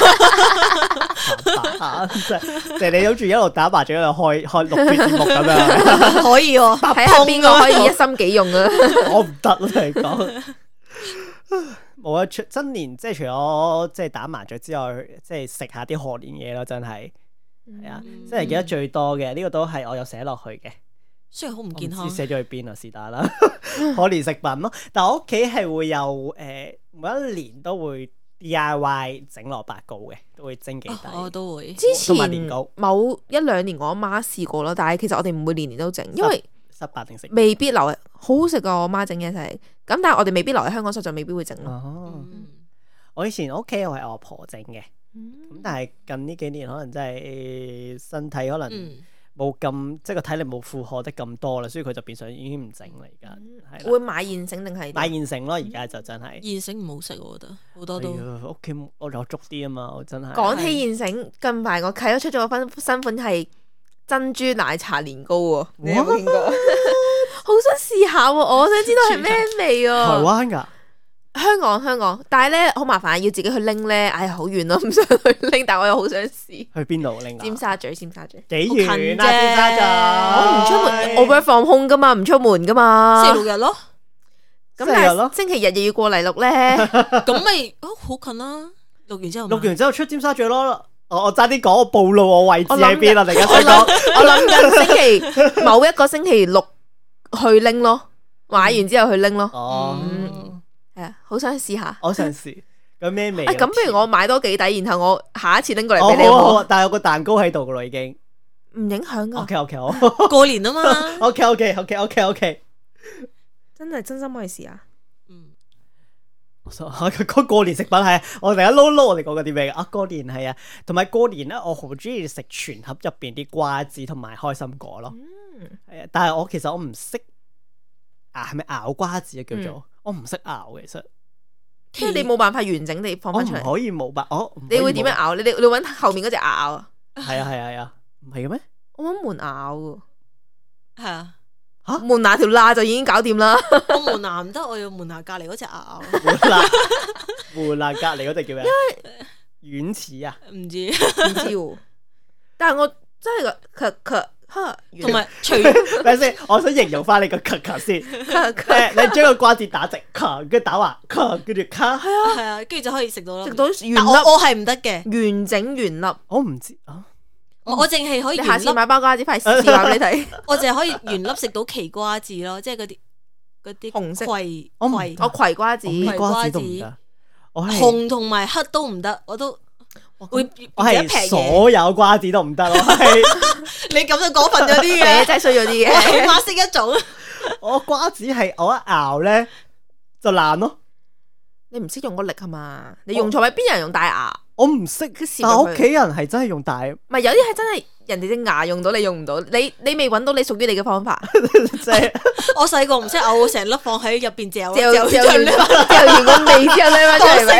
A: 即係你諗住一路打麻雀一路開錄節目咁樣，
C: 可以喎。
B: 睇下邊個可以一心幾用啊！
A: 我唔得啦，你講。 冇啊！新年即係除咗即係打麻雀之外，即係食下啲賀年嘢咯，真係係啊！真係記得最多嘅呢個都係我有寫落去嘅，
C: 雖然好唔健康，
A: 唔知寫咗去邊啊？是但啦，賀年食品咯。但係我屋企係會有每一年都會 DIY 整蘿蔔糕嘅，都會蒸幾底。
C: 我都會。
B: 之前
A: 同埋年糕
B: 某1、2年我阿媽試過咯，但係其實我哋唔會年年都整，因為
A: 失敗定食
B: 未必留喺好好食噶。我阿媽整嘢食，咁但係我哋未必留喺香港，所以就未必會整咯。
A: 哦，我以前屋企我係我阿婆整嘅，咁但係近呢幾年可能真係身體可能冇咁即係個體力冇負荷得咁多啦，所以佢就變相已經唔整啦而家。係
B: 會買現成定係
A: 買現成咯？而家就真係
C: 現成唔好食，我覺得好多都
A: 屋企我有足啲啊嘛，我真係
B: 講起現成，近排我契咗出咗個新款係珍珠奶茶年糕喎，你有冇見過？好想試下喎，我想知道係咩味啊！
A: 台灣㗎？
B: 香港，但係咧好麻煩，要自己去拎咧，哎呀好遠咯，唔想去拎，但係我又好想試。
A: 去邊度拎啊？
B: 尖沙咀幾
A: 遠啊？尖沙咀
B: 我唔出門，我 work from home 噶嘛，唔出門噶嘛。
C: 星期6日咯，
B: 咁但係星期日又要過嚟錄咧，
C: 咁咪好近啦。錄
A: 完之後出尖沙咀咯。我差啲講，我暴露我位置喺邊啦！突然間想講，
B: 我諗緊某一個星期六去拎咯，買完之後去拎咯。
A: 哦，
B: 係啊，好想試下。
A: 我想試，咁咩味？
B: 咁不如我買多幾底，然後我下一次拎過嚟俾你。
A: 好，但係有個蛋糕喺度噶咯，已經
B: 唔影響噶。
A: OK，好。
C: 過年啊嘛。
A: OK。
B: 真心可以試下。
A: 過年食品係我突然間撈我哋講緊啲咩啊？過年係啊，同埋過年咧，我好中意食全盒入邊啲瓜子同埋開心果咯。係啊，但係其實我唔識係咪咬瓜子啊？叫做我唔識咬嘅，其實
B: 即係你冇辦法完整地放翻出嚟。
A: 我唔可以冇辦法，
B: 你會點樣咬？你搵後面嗰隻牙咬啊？
A: 係啊，唔係嘅咩？
B: 我搵門牙咬嘅，
C: 係啊。
B: 吓門牙條罅就已經搞掂啦。
C: 我門牙唔得，我要門牙隔籬嗰隻牙。
A: 門牙隔籬嗰隻叫咩？軟齒啊？
C: 唔知，
B: 但係我真係
C: 同埋除
A: 等先，我想形容翻你個先。你將個瓜子打直，跟住打橫，跟住卡。
C: 係啊，跟住就可以食到啦。
B: 食到原粒，
C: 我係唔得嘅，
B: 完整原粒。
A: 我唔知啊。
C: 我淨係可以，
B: 你下次買包瓜子快試下俾你睇。
C: 我淨係可以原粒食到奇瓜子咯，即係嗰啲
B: 紅色
C: 葵，
B: 我葵瓜子，
A: 瓜子都唔得。
C: 紅同埋黑都唔得，我都會
A: 我係所有瓜子都唔得咯。
C: 你咁就過分咗啲嘅，
B: 真係衰咗啲嘅。
C: 我起碼識一種。
A: 我瓜子係我一咬咧就爛咯。
B: 你唔識用個力係嘛？你用錯位，邊有人用大牙？
A: 我唔識，但係屋企人係真係用大，
B: 唔係有啲係真係人哋隻牙用到，你用唔到，你未揾到你屬於你嘅方法。
A: 即係
C: 我細個唔識咬，成粒放喺入邊嚼
B: 完個味之後咧，翻出嚟咪。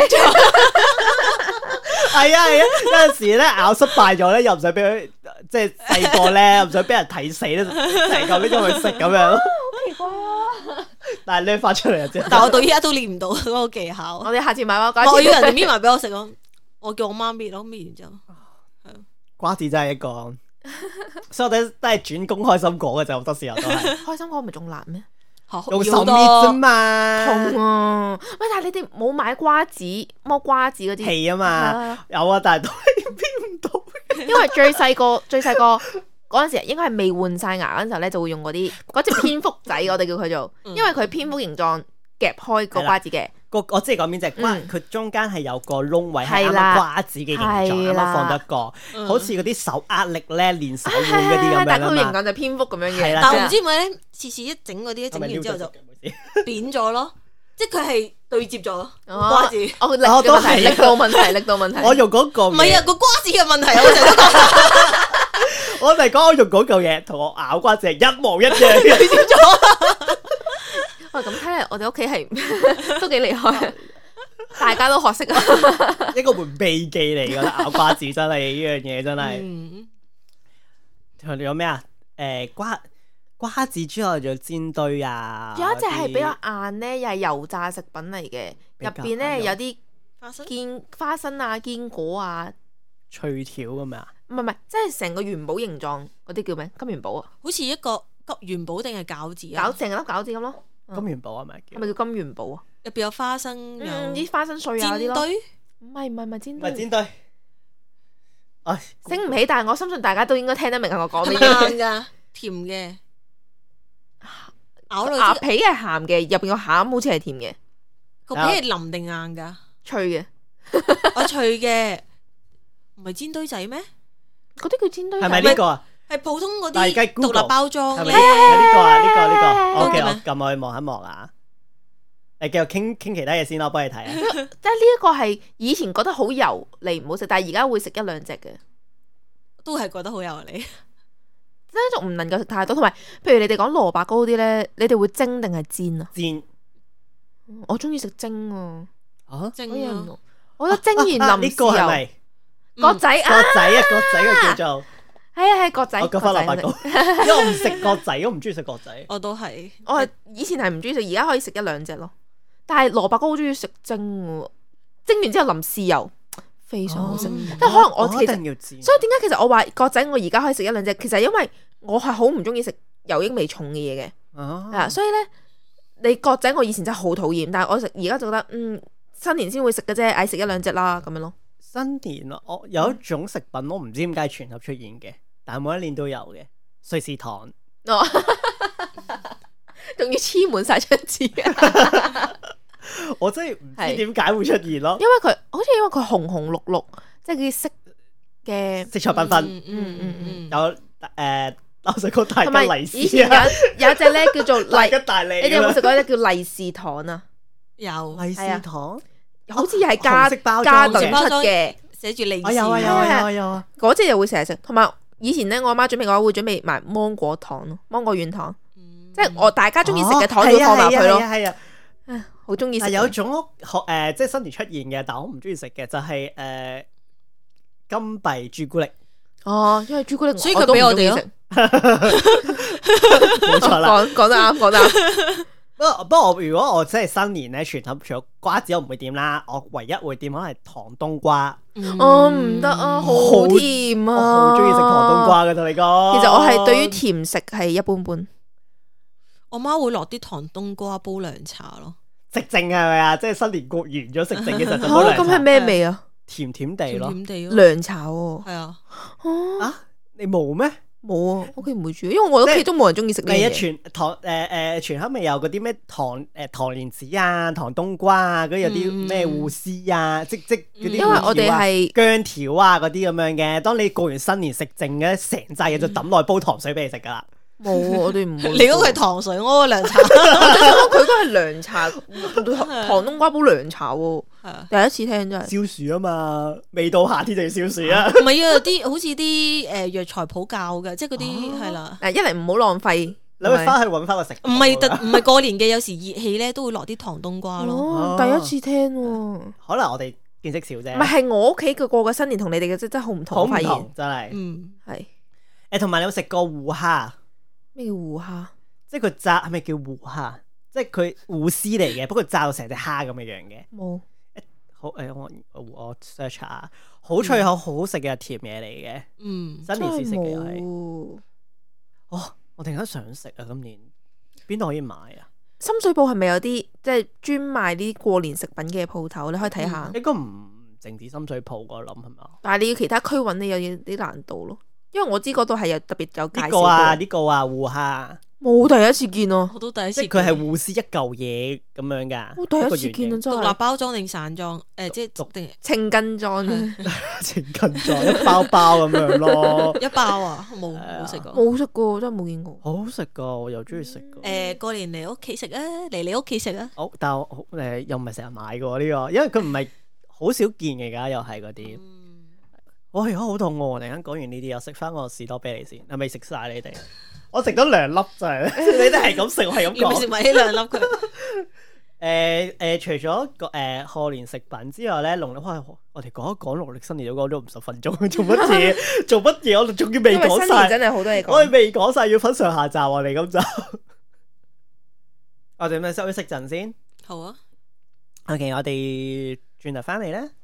A: 係啊，有陣時咧咬失敗咗咧，又唔想俾佢即係細個咧，唔想俾人睇死咧，成嚿拎咗去食咁樣咯。
B: 好奇怪啊！
A: 但係拎翻出嚟啫。
C: 但係我到依家都練唔到嗰個技巧。
B: 我哋下次買包瓜子，
C: 我要人哋搣埋俾我食咯。我叫我媽搣咯，搣完之後，
A: 瓜子真係一個，所以我哋都係轉工開心果嘅就好多時候都係。
B: 開心果唔係仲難咩？
A: 用手搣啫嘛，
B: 痛啊！喂，但係你哋冇買瓜子剝瓜子嗰啲
A: 皮啊嘛，有啊，但係都係搣唔到。
B: 因為最細個嗰陣時，應該係未換晒牙嗰陣時候咧，就會用嗰隻蝙蝠仔，我哋叫佢做，因為佢蝙蝠形狀夾開個瓜子嘅。
A: 我知你講邊隻瓜，佢中間係有個窿位，係啱啱瓜子嘅形狀，啱啱放得個，好似嗰啲手壓力咧練手腕嗰啲咁樣。
B: 但係佢形狀就蝙蝠咁樣嘅。
C: 但係唔知點解咧，次次一整嗰啲，整完之後就扁咗咯，即係佢係對接咗瓜子。
B: 我力度問題。
A: 我用嗰個
C: 唔係啊，個瓜子嘅問題，我成日都講。
A: 我哋講我用嗰嚿嘢同我咬瓜子係一模一樣，對接咗。
B: 喂，咁睇嚟我哋屋企係都幾厲害，大家都學識啊！
A: 一個門秘技嚟噶，咬瓜子真係呢樣嘢真係。仲有咩啊？瓜子之外仲有煎堆啊！
B: 有一隻係比較硬咧，又係油炸食品嚟嘅，入邊咧有啲花生啊、堅果啊、
A: 脆條咁樣。
B: 唔係，即係成個元寶形狀嗰啲叫咩？金元寶啊？
C: 好似一個元寶定係餃子啊？
B: 成粒餃子咁咯。
A: 金元寶係咪？
B: 係咪叫金元寶啊？
C: 入邊有花生，
B: 啲花生碎啊啲咯。
C: 煎堆
B: 唔係煎
A: 唔係
B: 堆，
A: 煎堆。唉，
B: 醒唔起，但係我相信大家都應該聽得明我講咩
C: 係
B: 嘢。
C: 硬噶，甜嘅，咬落
B: 鴨皮係鹹嘅，入邊個餡好似係甜嘅，
C: 個皮係腍定硬噶？
B: 脆嘅。
C: 我脆嘅，唔係煎堆仔咩？
B: 嗰啲叫煎堆仔。
A: 係咪呢個啊？
C: 係普通嗰
A: 但係而家
C: 啲獨立包裝嘅
A: 係咪。呢個啊？呢個。OK，
C: 嗰個咩
A: 我撳去望一望啊。誒，繼續傾其他嘢先啦，我幫你睇啊。
B: 即係呢一個係以前覺得好油膩唔好食，但係而家會食一兩隻嘅，
C: 都係覺得好油膩。
B: 即係仲唔能夠食太多。同埋，譬如你哋講蘿蔔糕嗰啲咧，你哋會蒸定係煎啊？
A: 煎。
B: 我中意食蒸啊！
A: 啊？
C: 蒸
B: 我
C: 啊！
B: 覺得蒸完淋
A: 呢個係咪
B: 角仔啊？
A: 角仔啊？角仔嘅叫做。
B: 係角仔。
A: 我講翻蘿蔔糕，因為我唔食角仔，我唔中意食角仔。
C: 我都係，
B: 我係以前係唔中意食，而家可以食一兩隻咯。但係蘿蔔糕好中意食蒸喎，蒸完之後淋豉油，非常好食。即係可能我其實，
A: 要煎。
B: 所以點解其實我話角仔我而家可以食一兩隻，其實因為我係好唔中意食油益味重嘅嘢嘅，係啊，所以咧你角仔我以前真係好討厭，但係我食而家就覺得新年先會食嘅啫，嗌食一兩隻啦咁樣咯。
A: 新年啊，我有一種食品我唔知點解全盒出現嘅，但係每一年都有嘅瑞士糖。
B: 仲要黐滿晒張紙，
A: 我真係唔知點解會出現咯。
B: 因為佢好似因為佢紅紅綠綠，即係啲色嘅
A: 色彩繽紛。有老實講大吉利是
B: 以前有一隻咧叫做
A: 大吉大利。
B: 你哋有冇食過一隻叫利是糖啊？
C: 有
A: 利是糖，
B: 好似係加
A: 紅色包
B: 加
A: 裝
B: 頓出嘅，
C: 寫住利是。
A: 有啊。
B: 嗰隻又會成日食，同埋以前咧我阿媽準備嘅話會準備埋芒果糖咯，芒果軟糖。即係我大家中意食嘅糖要放埋佢咯，
A: 係啊，
B: 好中意食。
A: 有一種即係新年出現嘅，但我唔中意食嘅就係金幣朱古力。
B: 哦，因為朱古力，
C: 所以佢俾我哋咯。
A: 冇錯啦，
B: 講得啱，講得啱。
A: 不過如果我真係新年咧，全盒除咗瓜子我唔會點啦，我唯一會點可能係糖冬瓜。
B: 唔得啊，好甜啊！
A: 我好中意食糖冬瓜嘅，同你講。
B: 其實我係對於甜食係一般般。
C: 我媽會落啲糖冬瓜煲涼茶咯，
A: 食剩係咪啊？即係新年過完咗食剩嘅時候就煲涼茶。
B: 咁係咩味啊？
A: 甜甜地咯，
C: 甜地咯，
B: 涼茶喎。
C: 係啊。
A: 啊，你冇咩？
B: 冇啊，屋企唔會煮，因為我屋企都冇人中意食呢
A: 係啊，
B: 嘢。
A: 全盒咪有嗰啲咩糖蓮子啊、糖冬瓜啊，嗰啲有啲咩芋絲啊，即嗰啲。
B: 因為我哋係
A: 薑條啊嗰啲咁樣嘅，當你過完新年食剩嘅成扎嘢就抌落去煲糖水俾你食噶啦。
B: 冇，我哋唔會。
C: 你嗰個係糖水，我個涼茶。
B: 佢都係涼茶，糖冬瓜煲涼茶喎。第一次聽真係。
A: 消暑啊嘛，未到夏天就要消暑啊。
C: 唔係啊，有啲好似啲藥材鋪教嘅，即係嗰啲係啦。
B: 一嚟唔好浪費，
A: 你會翻去揾翻個食。
C: 唔係過年嘅，有時熱氣咧都會落啲糖冬瓜咯。
B: 第一次聽喎。
A: 可能我哋見識少啫。
B: 唔係我屋企嘅過嘅新年同你哋嘅真係好唔同。
A: 好唔同真係。
B: 係。
A: 同埋你有冇食過芋蝦？
B: 咩叫芋蝦？
A: 即係佢炸係咪叫芋蝦？即係佢芋絲嚟嘅，不過炸到成隻蝦咁嘅樣嘅。
B: 冇。
A: 好我 search 下，好脆口，好好食嘅甜嘢嚟嘅。新年時食嘅係。我突然間想食啊！今年邊度可以買啊？
B: 深水埗係咪有啲即係專賣啲過年食品嘅鋪頭？你可以睇下。
A: 應該唔淨止深水埗，我諗係咪？
B: 但係你要其他區揾你有啲難度咯。因為我知嗰度係有特別有介紹。
A: 呢個啊，芋蝦
B: 冇第一次見啊！
C: 我都第一次。
A: 即係佢係芋絲一嚿嘢咁樣噶。
B: 我第一次見啊，真係。
C: 獨立包裝定散裝？即係逐定
B: 稱斤裝。
A: 稱斤裝一包包咁樣咯。
C: 一包啊，冇食過。
B: 冇食過，真係冇見過。
A: 好好食噶，我又中意食噶。
C: 過年嚟屋企食啊，嚟你屋企食啊。
A: 好，但係又唔係成日買嘅呢個，因為佢唔係好少見嘅，而家又係嗰啲。我而家好肚餓，突然間講完呢啲，又食翻個士多啤梨先，係咪食晒你哋？我食咗2粒咋，你哋係咁食，我係咁講。
C: 要唔要食埋呢2粒佢？
A: 除咗賀年食品之外咧，農曆我哋講一講農曆新年都講咗50分鐘，做乜嘢？做乜嘢？我哋仲要未講晒，
B: 真係好多嘢講。
A: 我哋未講晒，要分上下集我哋咁就。我哋咪休息陣先。
C: 好啊。
A: OK，我哋轉頭翻嚟咧。